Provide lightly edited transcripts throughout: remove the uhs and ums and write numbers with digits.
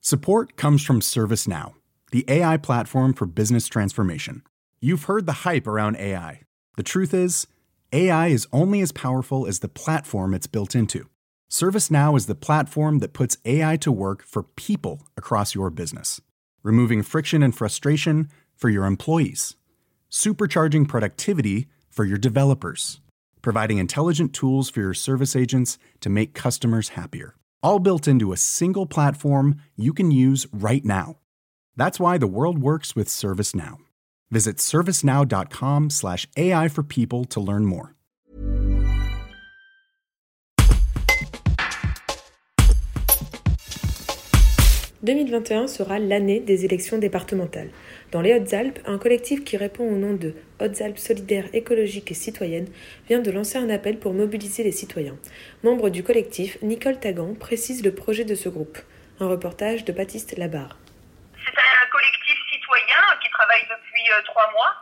Support comes from ServiceNow, the AI platform for business transformation. You've heard the hype around AI. The truth is, AI is only as powerful as the platform it's built into. ServiceNow is the platform that puts AI to work for people across your business, removing friction and frustration for your employees, supercharging productivity for your developers, providing intelligent tools for your service agents to make customers happier. All built into a single platform you can use right now. That's why the world works with ServiceNow. Visit servicenow.com/AI for people to learn more. « 2021 sera l'année des élections départementales. Dans les Hautes-Alpes, un collectif qui répond au nom de Hautes-Alpes solidaires, écologiques et citoyennes vient de lancer un appel pour mobiliser les citoyens. Membre du collectif, Nicole Tagan précise le projet de ce groupe. Un reportage de Baptiste Labarre. C'est un collectif citoyen qui travaille depuis 3 mois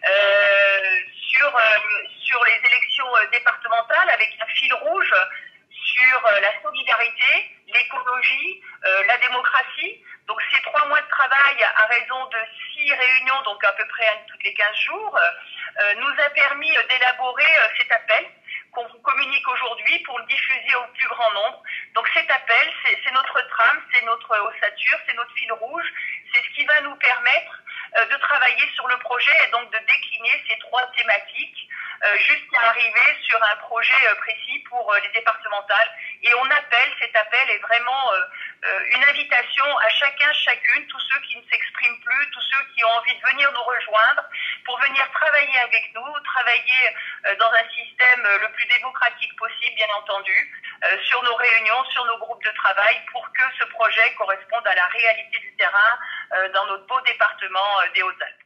sur les élections départementales avec un fil rouge sur la solidarité, l'écologie, la démocratie. Donc ces 3 mois de travail à raison de 6 réunions, donc à peu près toutes les 15 jours, nous a permis d'élaborer cet appel qu'on vous communique aujourd'hui pour le diffuser au plus grand nombre. Donc cet appel, c'est notre trame, c'est notre ossature, c'est notre fil rouge, c'est ce qui va nous permettre de travailler sur le projet et donc de décliner ces 3 thématiques jusqu'à arriver sur un projet précis pour les départementales. Et cet appel est vraiment une invitation à chacune, tous ceux qui ne s'expriment plus, tous ceux qui ont envie de venir nous rejoindre, pour venir travailler avec nous, travailler dans un système le plus démocratique possible, bien entendu, sur nos réunions, sur nos groupes de travail, pour que ce projet corresponde à la réalité du terrain dans notre beau département des Hautes-Alpes.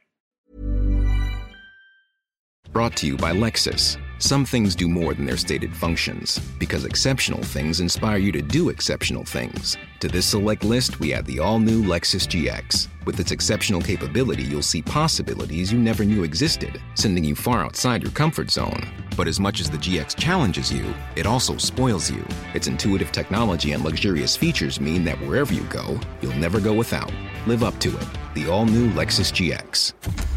Brought to you by Lexus. Some things do more than their stated functions, because exceptional things inspire you to do exceptional things. To this select list, we add the all-new Lexus GX. With its exceptional capability, you'll see possibilities you never knew existed, sending you far outside your comfort zone. But as much as the GX challenges you, it also spoils you. Its intuitive technology and luxurious features mean that wherever you go, you'll never go without. Live up to it. The all-new Lexus GX.